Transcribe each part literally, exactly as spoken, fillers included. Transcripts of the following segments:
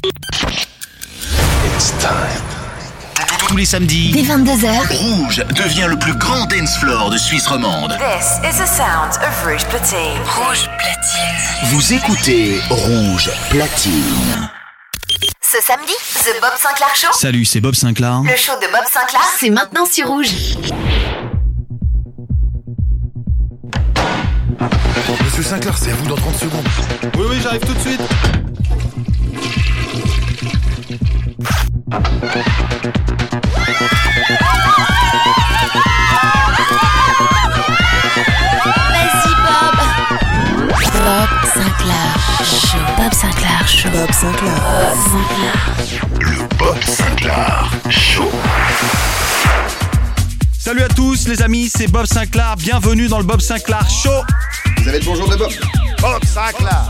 It's time. Tous les samedis, dès vingt-deux heures, Rouge devient le plus grand dance floor de Suisse romande. This is the sound of Rouge Platine. Rouge Platine. Vous écoutez Rouge Platine. Ce samedi, The Bob Sinclair Show. Salut, c'est Bob Sinclair. Le show de Bob Sinclair, c'est maintenant sur Rouge. Monsieur Sinclair, c'est à vous dans trente secondes. Oui, oui, j'arrive tout de suite. Vas-y, Bob. Bob Sinclair Show. Bob Sinclair Show. Bob Sinclair. Bob Sinclair. Le Bob Sinclair Show. Salut à tous les amis, c'est Bob Sinclair. Bienvenue dans le Bob Sinclair Show. Vous avez le bonjour de Bob. Bob Sinclair.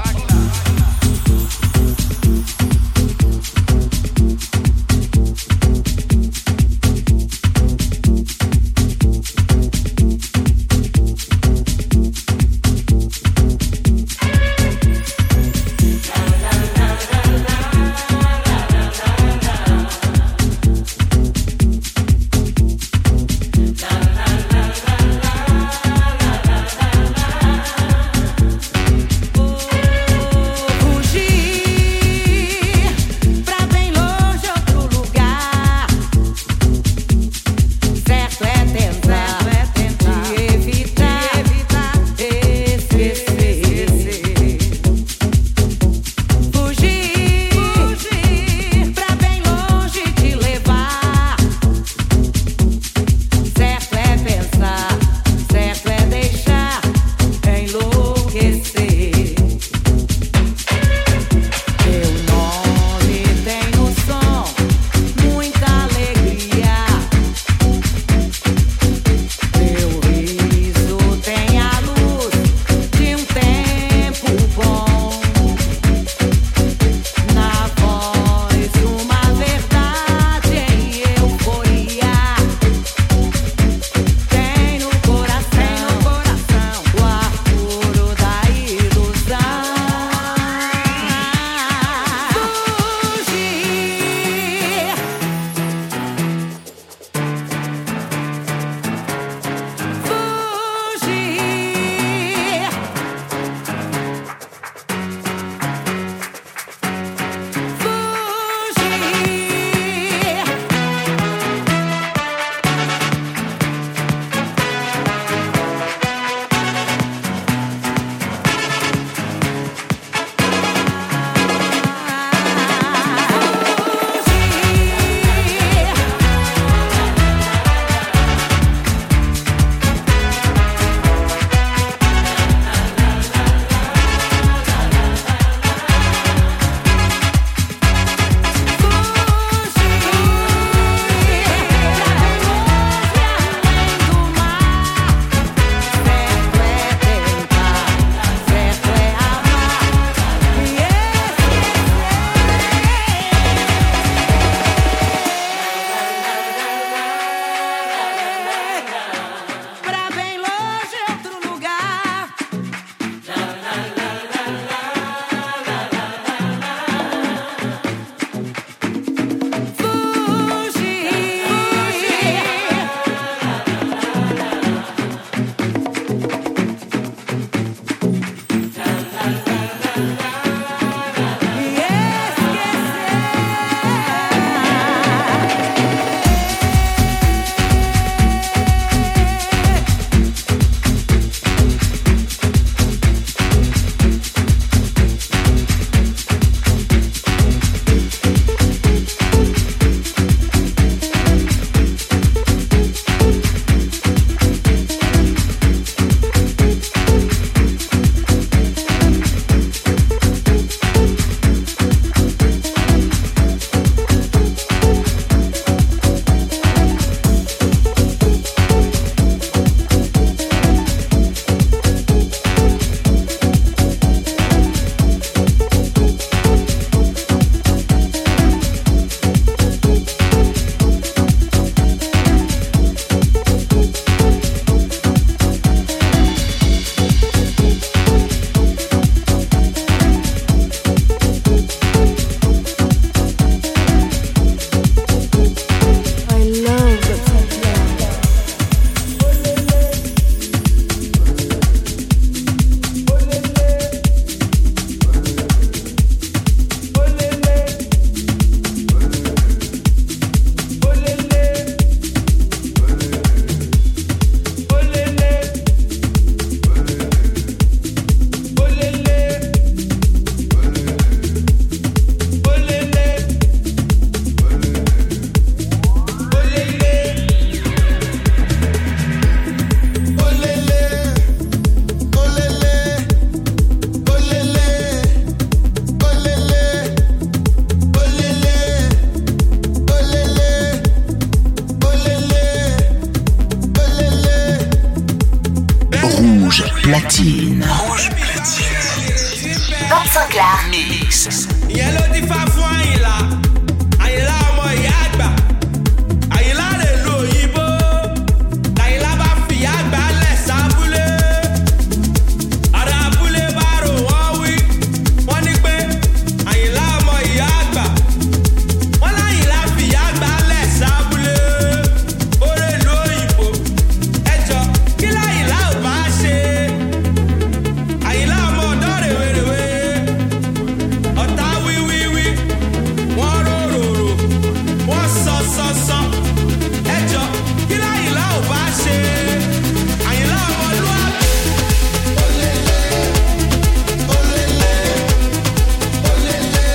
platine. Rouge Bob Sinclair. Mix. Yellow di fafun Àyìnlá, Àyìnlá ọmọ ìyá àgbà, Àyìnlá lè lo òyìnbó, Àyìnlá bá fìyà àgbà lẹ̀ sábúlé, ará abúlé bá rò wọ́n wí, wọ́n ní pé Àyìnlá ọmọ ìyá àgbà, wọ́n láyìnlá fìyà àgbà lẹ̀ sábúlé, ó lè lo òyìnbó, ẹjọ́ kí láyìnlá ò bá ṣe, Àyìnlá ọmọ ọ̀dọ́ rèwerèwe. Ọ̀tá wíwíwí, wọ́n roròrò, wọ́n sọ sọ sọ. Ẹjọ́ kí láyìnlá ò bá ṣe? Àyìnlá ọmọlúwàbí. Olélé, olélé, olélé.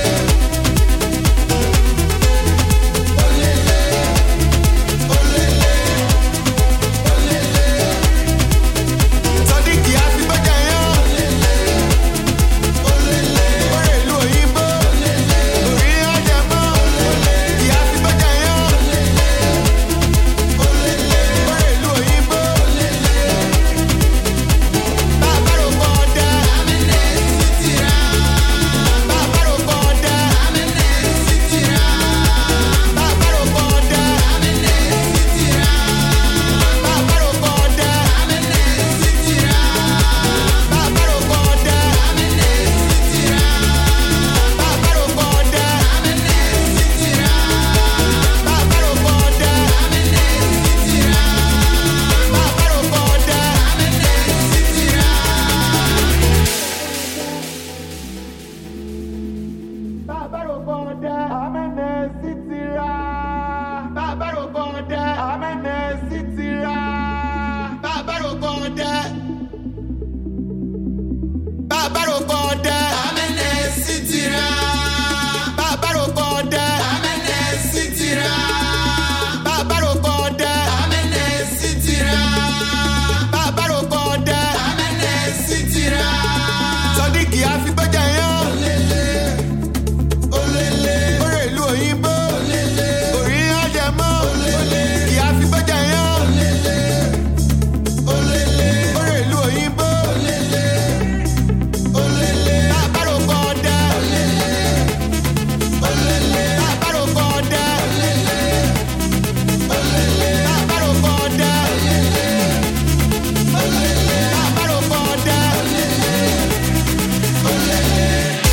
Olélé, olélé, olélé. Sọ́díkì á fi gbẹ́jà yán. Olélé, orí ìlú òyìnbó. Orí ajẹmọ́. Ìyá fi gbẹ́jà yán. Olélé, orí ìlú òyìnbó. Bàbá rò pọ̀ ọ̀dà. Bàbá rò pọ̀ ọ̀dà. Bàbá rò pọ̀ ọ̀dà. Bàbá rò pọ̀ ọ̀dà. Bàbá rò pọ̀ ọ̀dà. Bàbá rò pọ̀ ọ̀dà. Bàbá rò pọ̀ ọ̀dà. Bàbá rò pọ̀ ọ̀dà. Bàbá rò pọ̀ ọ̀dà. Amẹ́nẹ̀ sí ti ra. Bàbá rò pọ̀ ọ̀dà. Amẹ́nẹ̀ sí ti ra. Bàbá rò pọ̀ ọ̀dà. Bàbá rò pọ̀ ọ̀dà. Amẹ́nẹ̀ sí ti ra. Bàbá rò pọ̀ ọ̀dà. Amẹ́nẹ̀ sí ti ra. Bàbá rò pọ̀ ọ̀dà. Amẹ́nẹ̀ sí ti ra. Bàbá rò pọ̀ ọ̀dà. Amẹ́nẹ̀ sí ti ra. Sọ́díkì á fi gbẹ́jà yán. Olélé, olélé. Orí ìlú òyìnbó. Olélé. Orí ajẹmọ́. Olélé. Ìyá fi gbẹ́jà yán. Olélé, olélé. Orí ìlú òyìnbó. Olélé, olélé. Bàbá rò pọ̀ ọ̀dà. Olélé, olélé. Bàbá rò pọ̀ ọ̀dà. Olélé, olélé. Bàbá rò pọ̀ ọ̀dà. Olélé, olélé. Bàbá rò pọ̀ ọ̀dà. Olélé, olélé.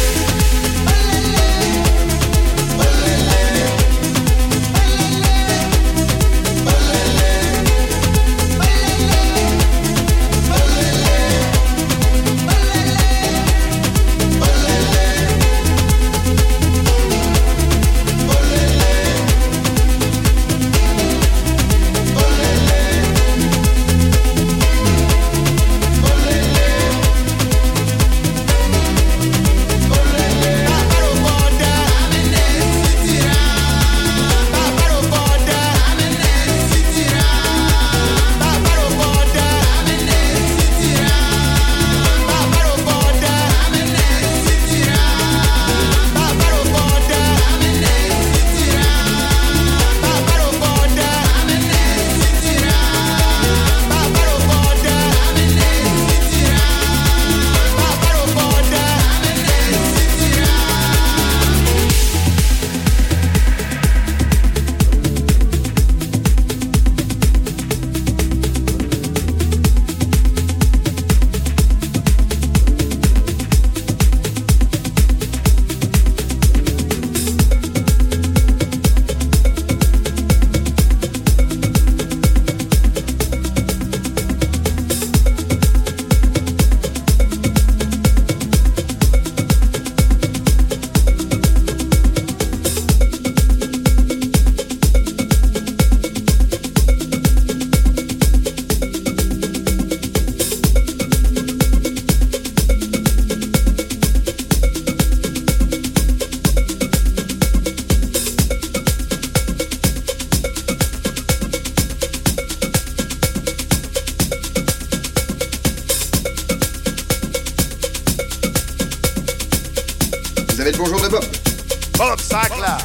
Vous avez le bonjour de Bob. Bob Sinclair.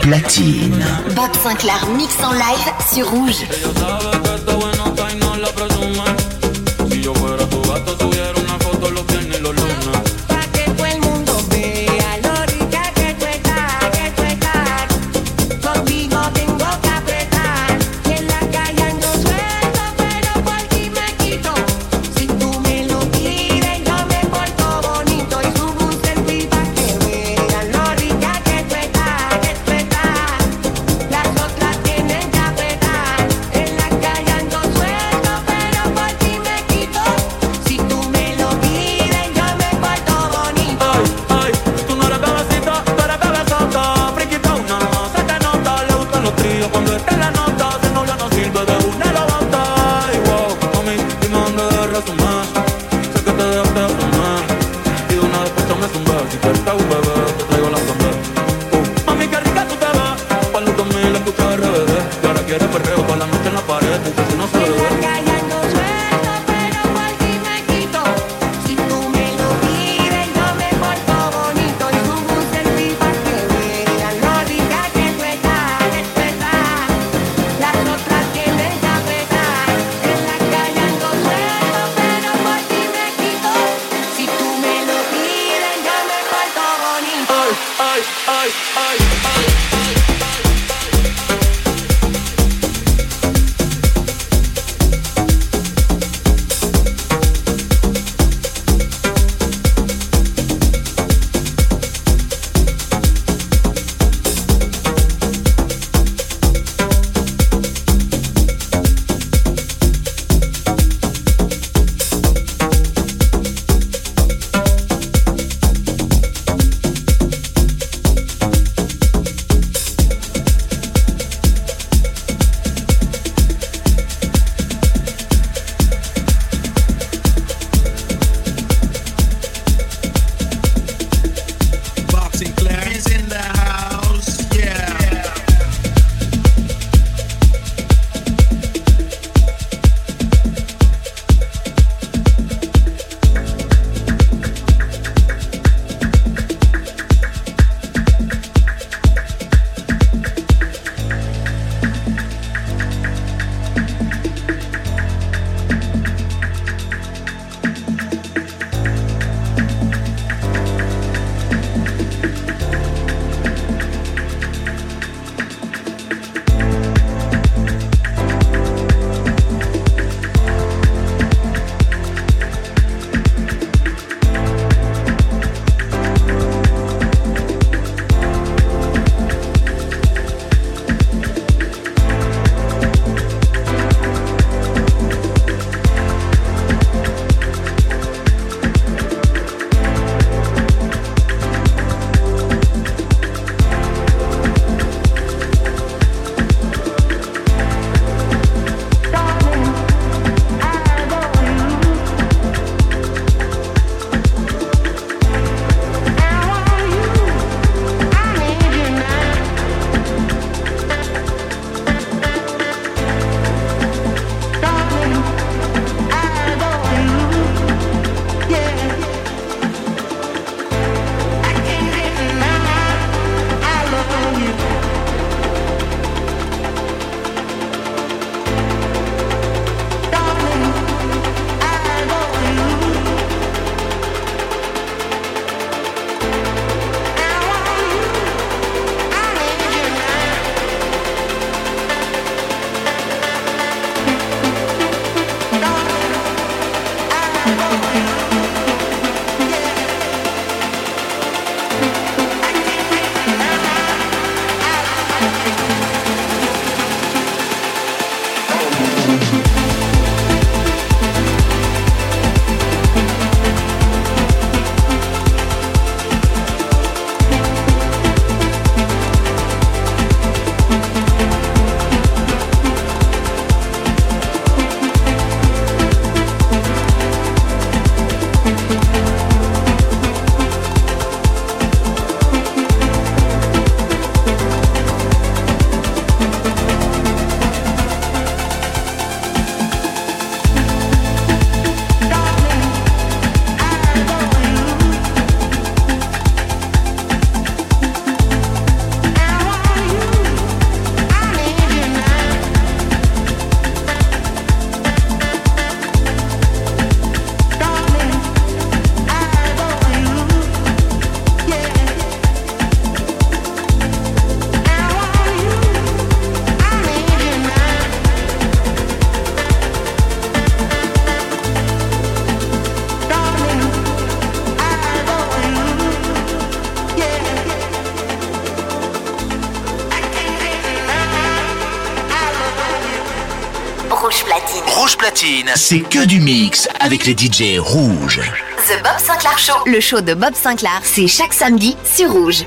platine. Bob Sinclair mix en live sur Rouge. Si tú me lo pides, yo me porto bonito. Platine, c'est que du mix avec les D J rouges. The Bob Sinclair Show. Le show de Bob Sinclair, c'est chaque samedi sur Rouge.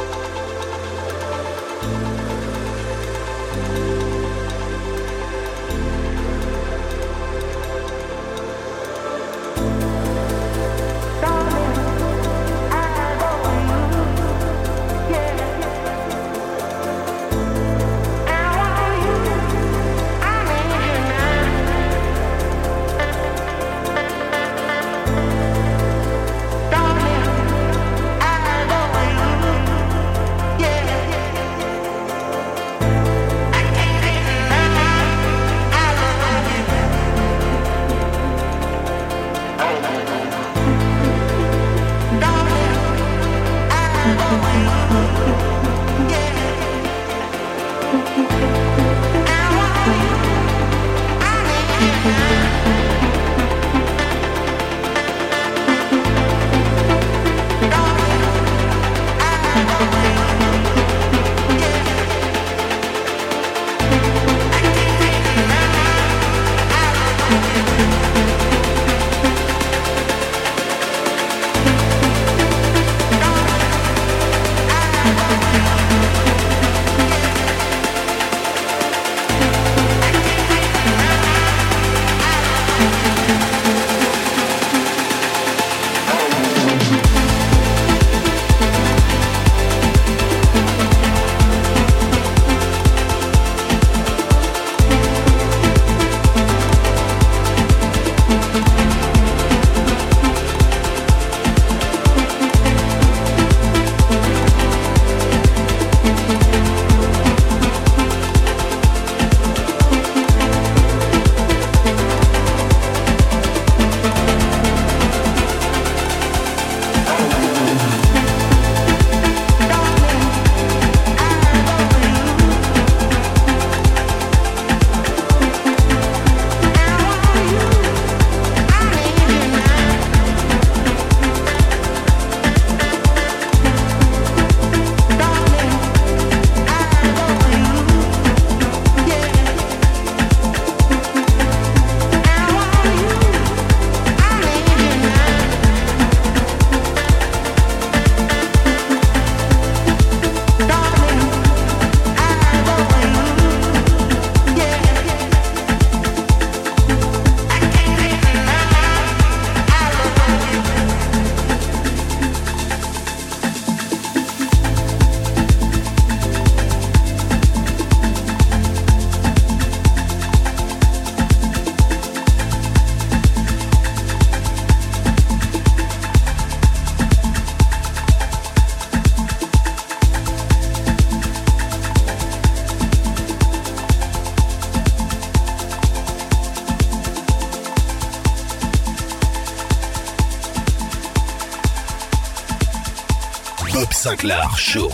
Bob Sinclair Show.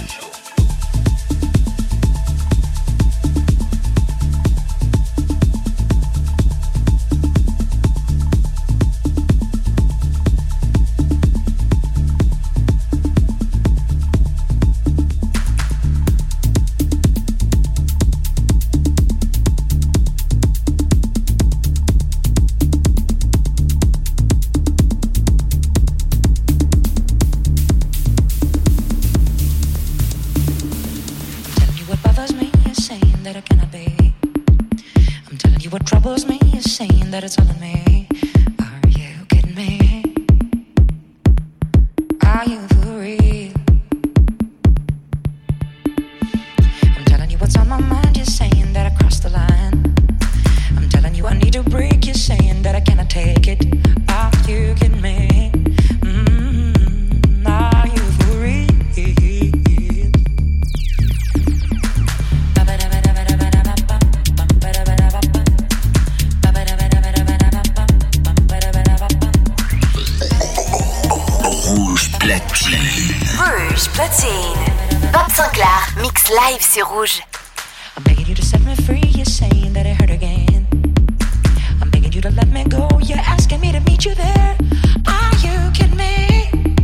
Live sur Rouge. I'm begging you to set me free, you're saying that it hurt again. I'm begging you to let me go, you're asking me to meet you there. Are you kidding me?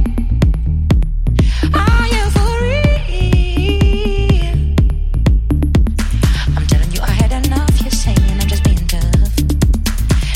Are you for real? I'm telling you I had enough, you're saying I'm just being tough.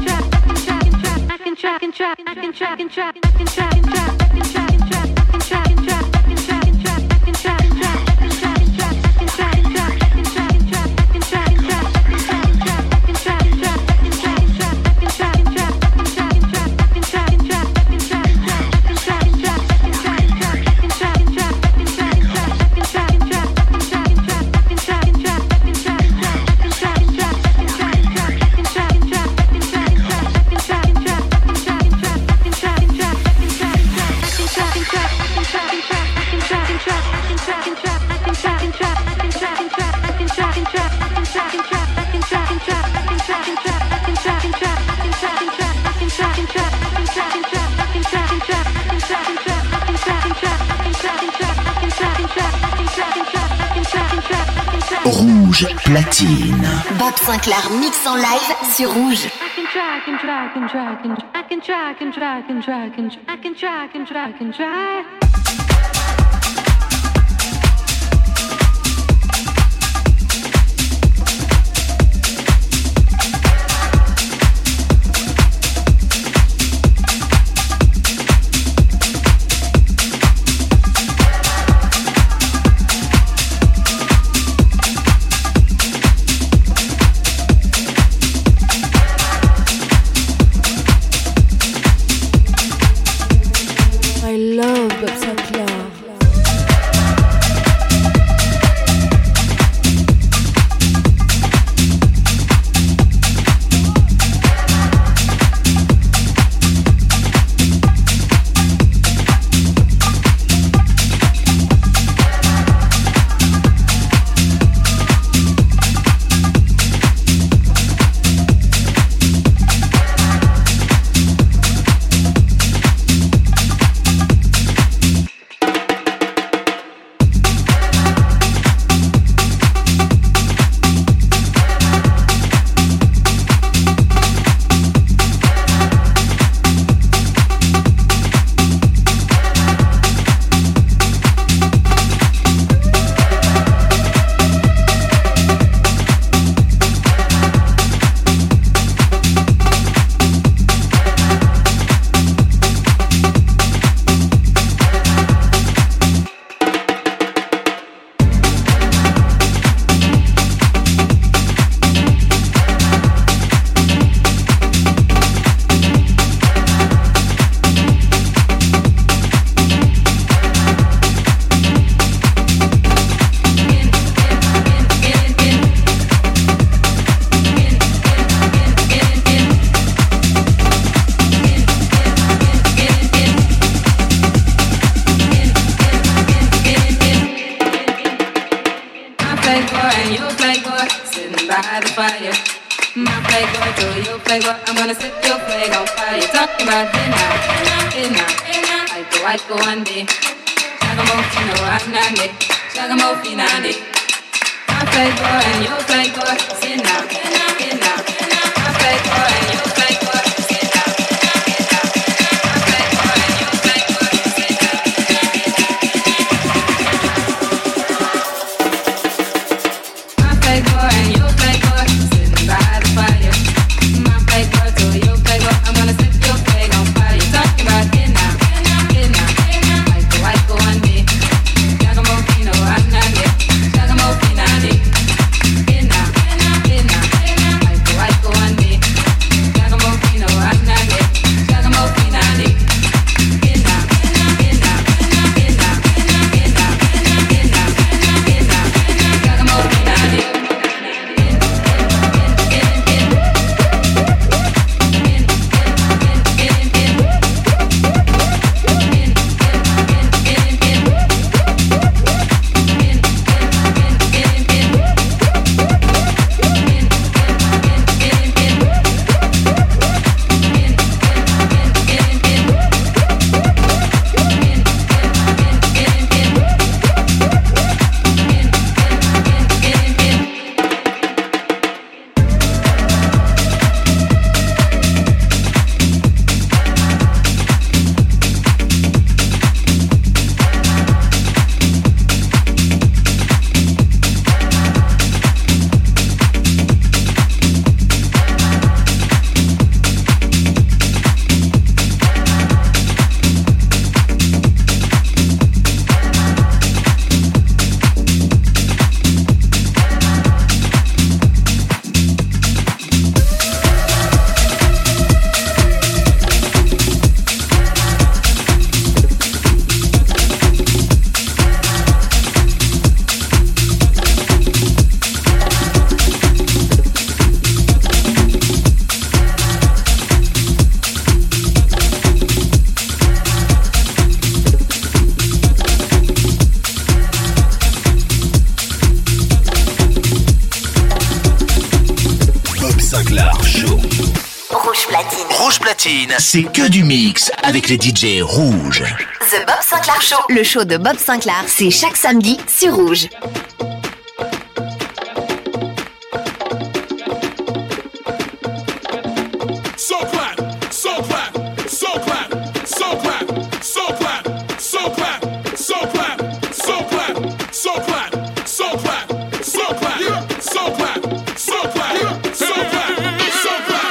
Rouge platine. Bob Sinclair mix en live sur Rouge. I can try, I can try, I can try, I can try, I can try, I can try, I can try, I can try, I can try. I love Bob Sinclair. Got platine, c'est que du mix avec les D J rouges. The Bob Sinclair Show, le show de Bob Sinclair, c'est chaque samedi sur Rouge. So clap, so clap, so clap, so clap, so clap, so clap, so clap, so clap, so clap, so clap, so clap, so clap, so clap, so clap, so clap.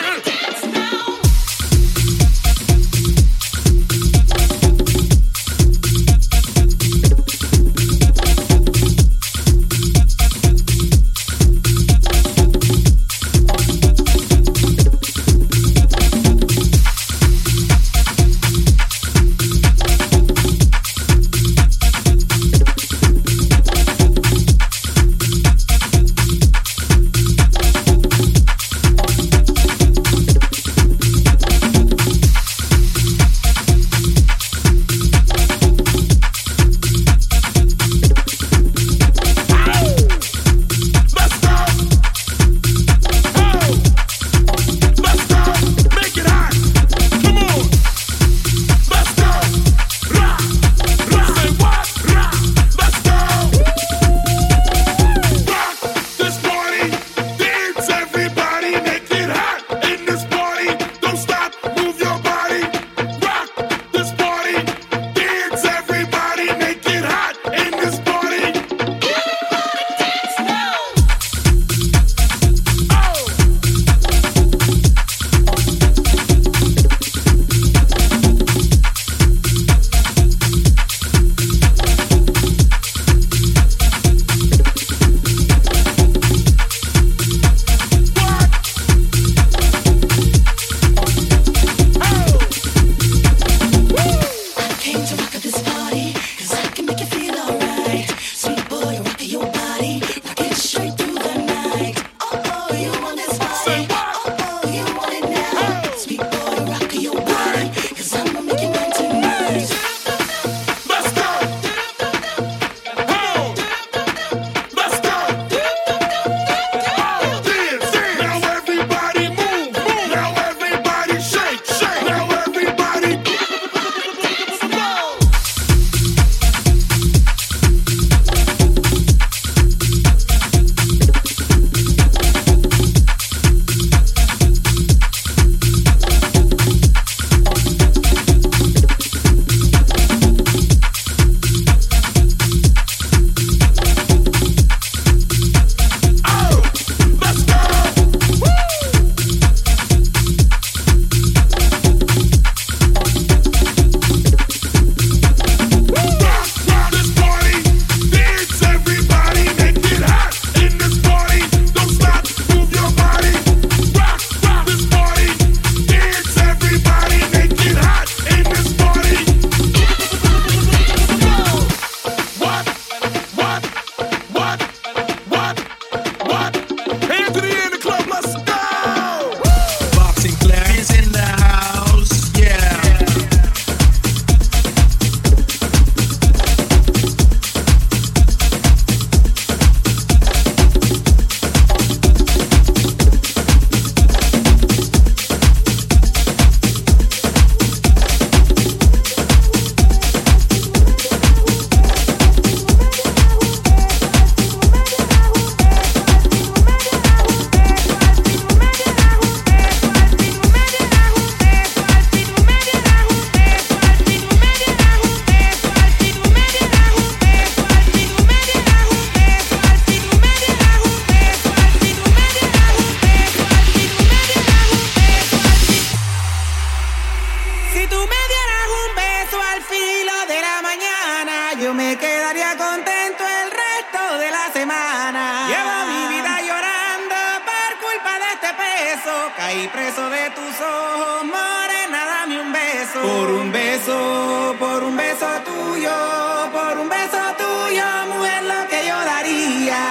Caí preso de tus ojos, morena, dame un beso. Por un beso, por un beso tuyo, por un beso tuyo, mujer, lo que yo daría.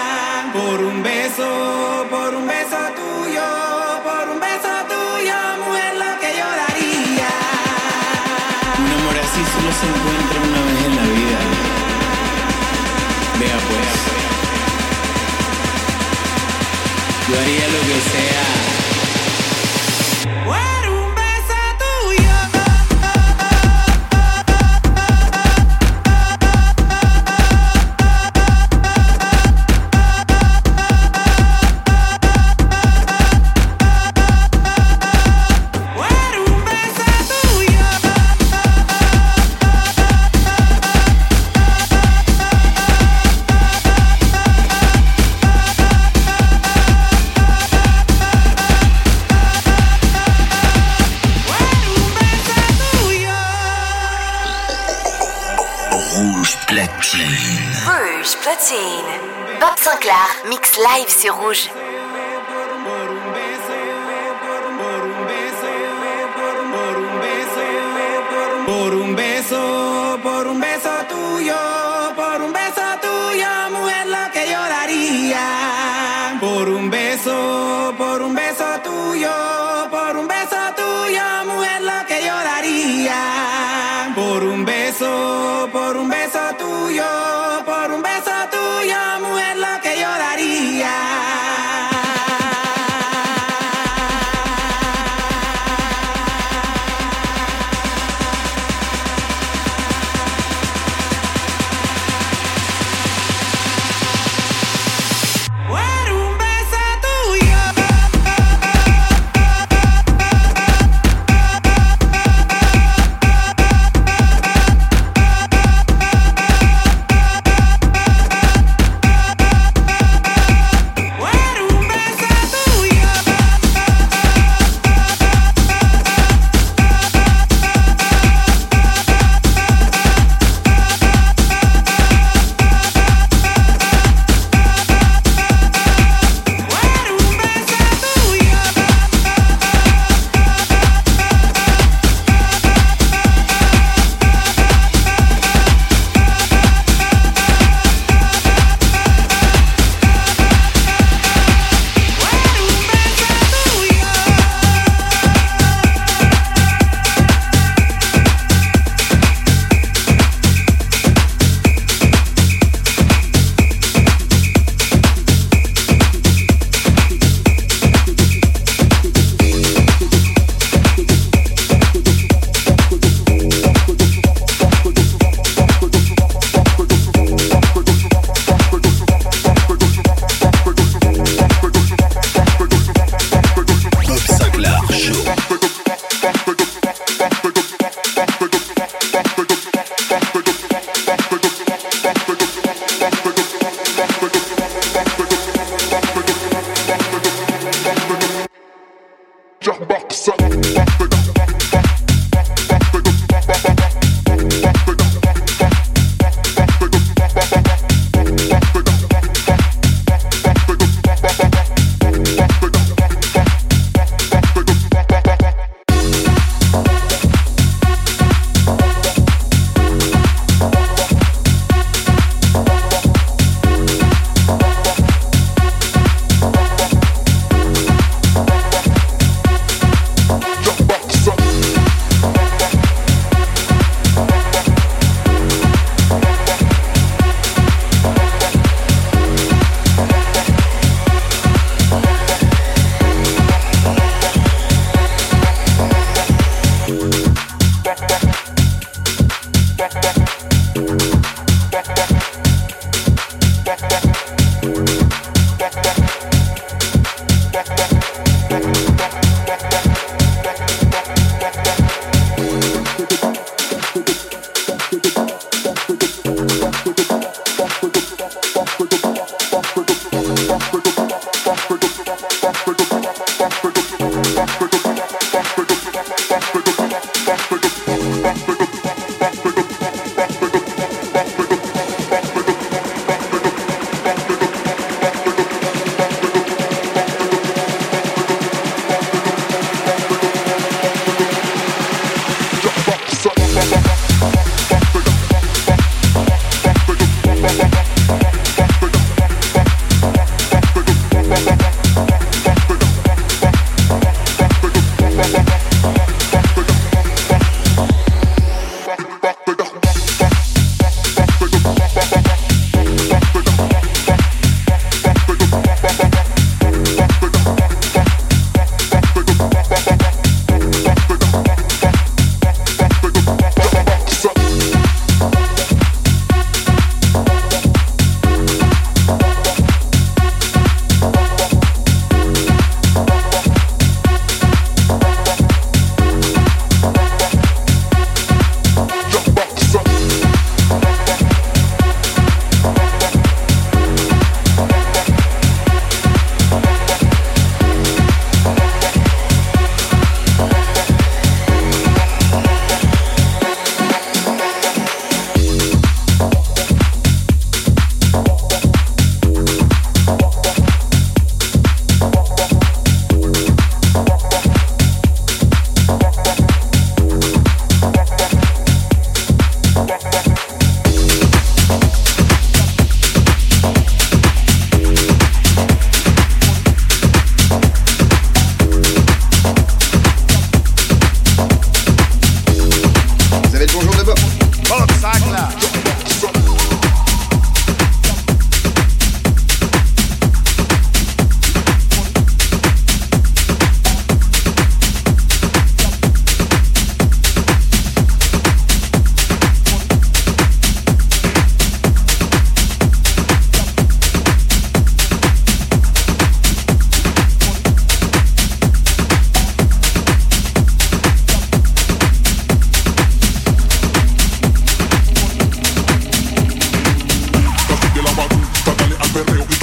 Por un beso, por un beso tuyo, por un beso tuyo, mujer, lo que yo daría. Un amor así solo se encuentra una vez en la vida. Vea pues, yo haría lo que sea. Por un beso Rouge Platine. Bob Sinclair, mix live sur Rouge. Por un beso, por un beso tuyo, por un beso tuyo, mujer, lo que yo daría. Por un beso, por un beso tuyo, por un beso tuyo, mujer, lo que yo daría. Por un beso, por un beso tuyo, por un beso tuyo, mujer, lo que yo daría.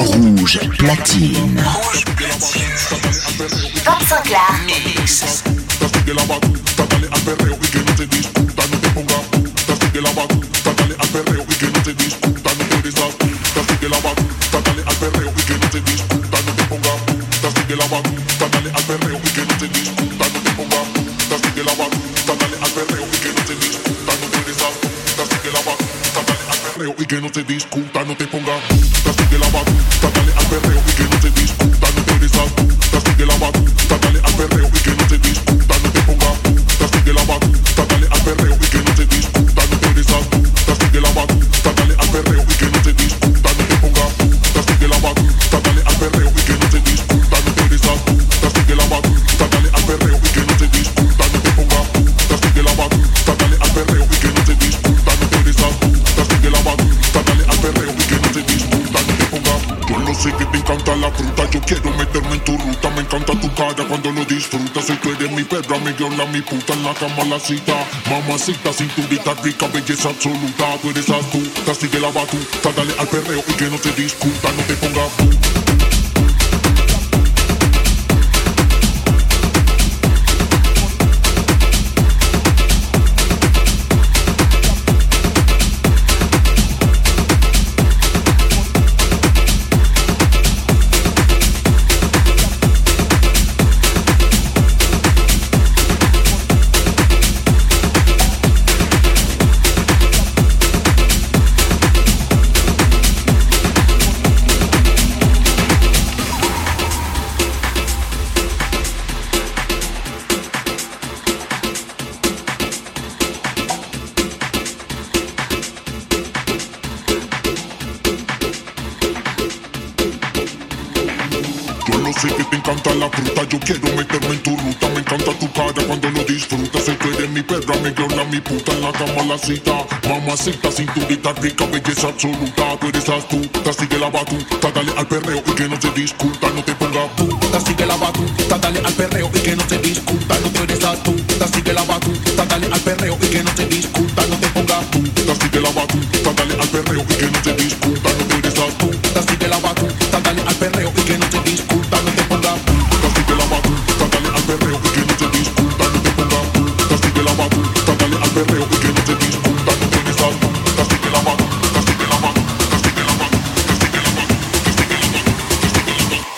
Rouge platine. Rouge platine. Bob Sinclair. Mix. Sigue la batuta, dale al perreo y que no se discuta, no te ponga puta. Sigue la batuta, dale al perreo y que no se discuta, no te desatuta. Sigue la batuta, dale al perreo y que no se discuta, no te ponga puta. Sigue la batuta, dale al perreo y que no se discuta, no te ponga puta. Sigue la batuta, dale al perreo y que no se discuta, no te desatuta. Sigue la batuta, dale al perreo y que no se discuta, no te ponga puta. Sigue la batuta, dale al perreo y que no se discuta, no te desatuta. Sigue la batuta, dale al perreo y que no se discuta, no te ponga puta. Sigue la batuta, dale al perreo y que no se discuta, no te desatuta. Sigue la batuta, dale al perreo y que no se discuta, no te ponga puta. Sigue la batuta, dale al perreo y que no se discuta, no te desatuta. Sigue la batuta, dale al perreo y que no se discuta, no te ponga puta. Sigue la batuta, dale al perreo y que no se discuta, no te desatuta. Sigue la batuta, dale al perreo y que no se discuta, no te ponga. Yo no sé que te encanta la fruta, yo quiero meterme en tu ruta. Me encanta tu cara cuando lo disfrutas. Si tú eres mi perra, mi viola, mi puta, en la cama la cita. Mamacita, cinturita rica, belleza absoluta. Tú eres astuta, sigue la batuta, dale al perreo y que no se discuta, no te ponga puta. Yo quiero meterme en tu ruta, me encanta tu cara cuando lo disfrutas. Si tú eres mi perra, mi viola, mi puta, en la cama la cita. Mamacita, cinturita rica, belleza absoluta. Tú eres astuta, sigue la batuta, dale al perreo y que no se discuta, no te ponga puta. Sigue la batuta, dale al perreo y que no se discuta, no te eres astuta. Sigue la batuta, dale al perreo y que no se discuta, no te ponga puta. Sigue la batuta, dale al perreo y que no se discuta, no te eres astuta. Sigue la batuta, dale al perreo y que no se discuta, no te ponga puta. Sigue la batuta, dale al perreo y que no se discuta, no te ponga puta. Sigue la batuta, dale al perreo y que no se discuta, no te eres astuta. Sigue la batuta, sigue la batuta, sigue la batuta, sigue la batuta, sigue la batuta, sigue la batuta.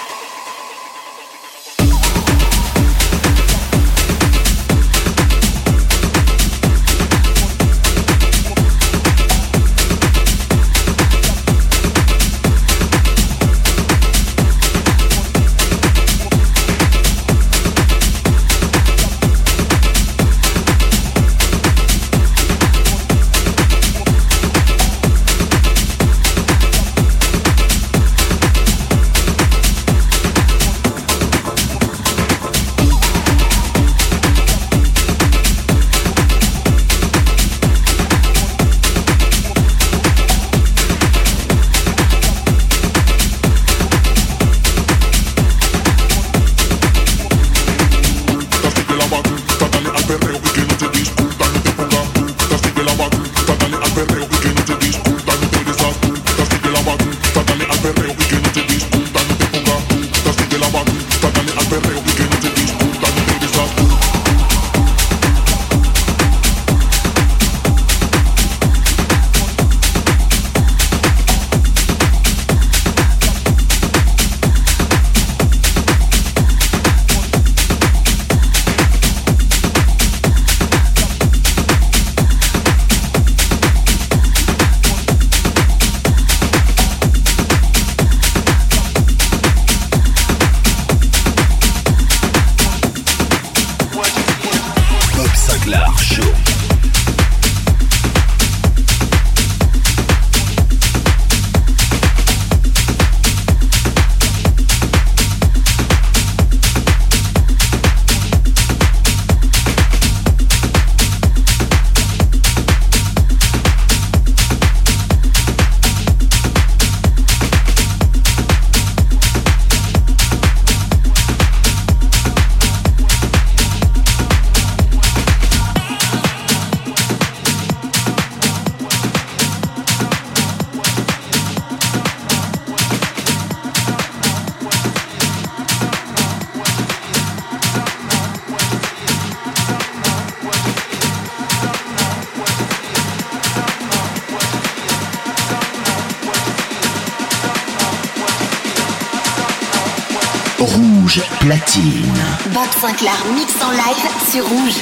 Rouge platine. Bob Sinclair mix en live sur Rouge.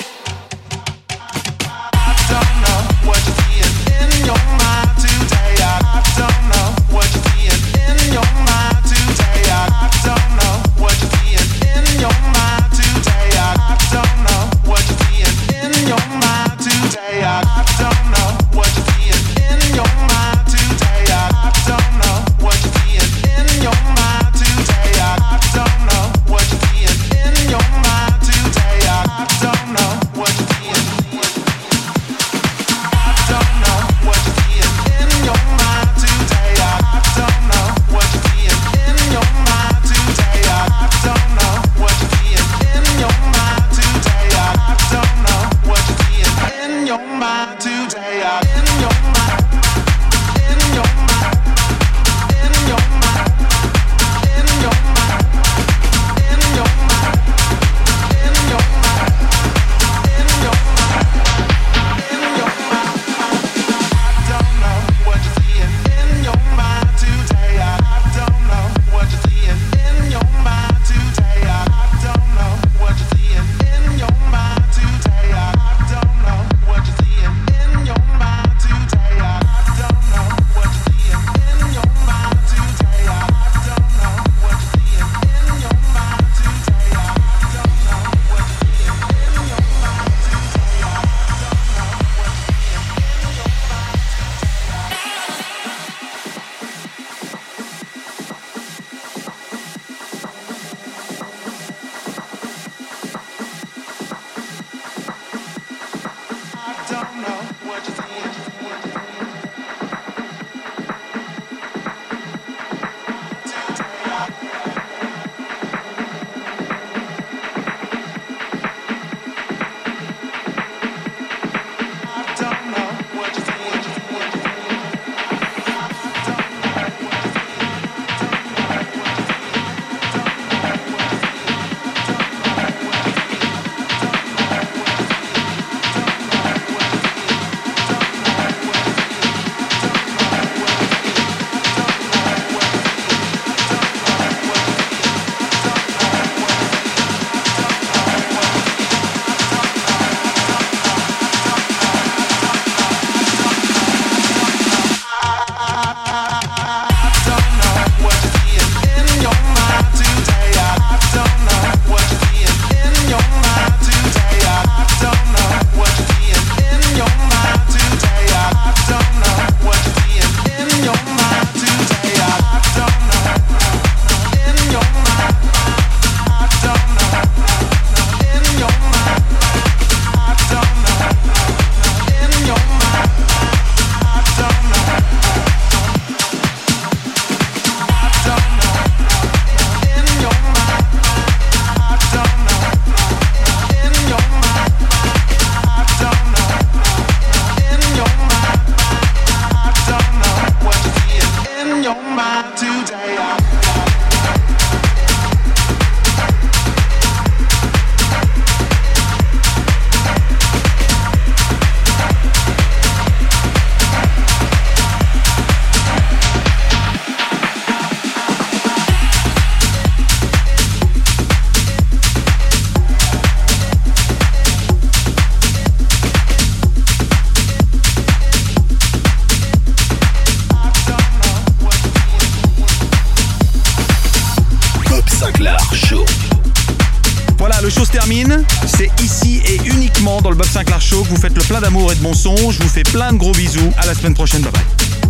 C'est ici et uniquement dans le Bob Sinclair Show que vous faites le plein d'amour et de bon son. Je vous fais plein de gros bisous. À la semaine prochaine. Bye bye.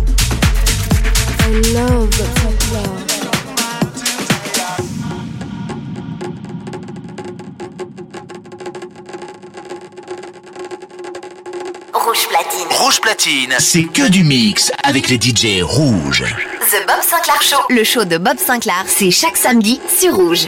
I love Bob Sinclair. Rouge platine. Rouge platine, c'est que du mix avec les D J rouges. The Bob Sinclair Show. Le show de Bob Sinclair, c'est chaque samedi sur Rouge.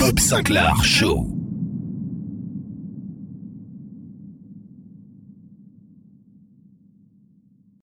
Bob Sinclar Show.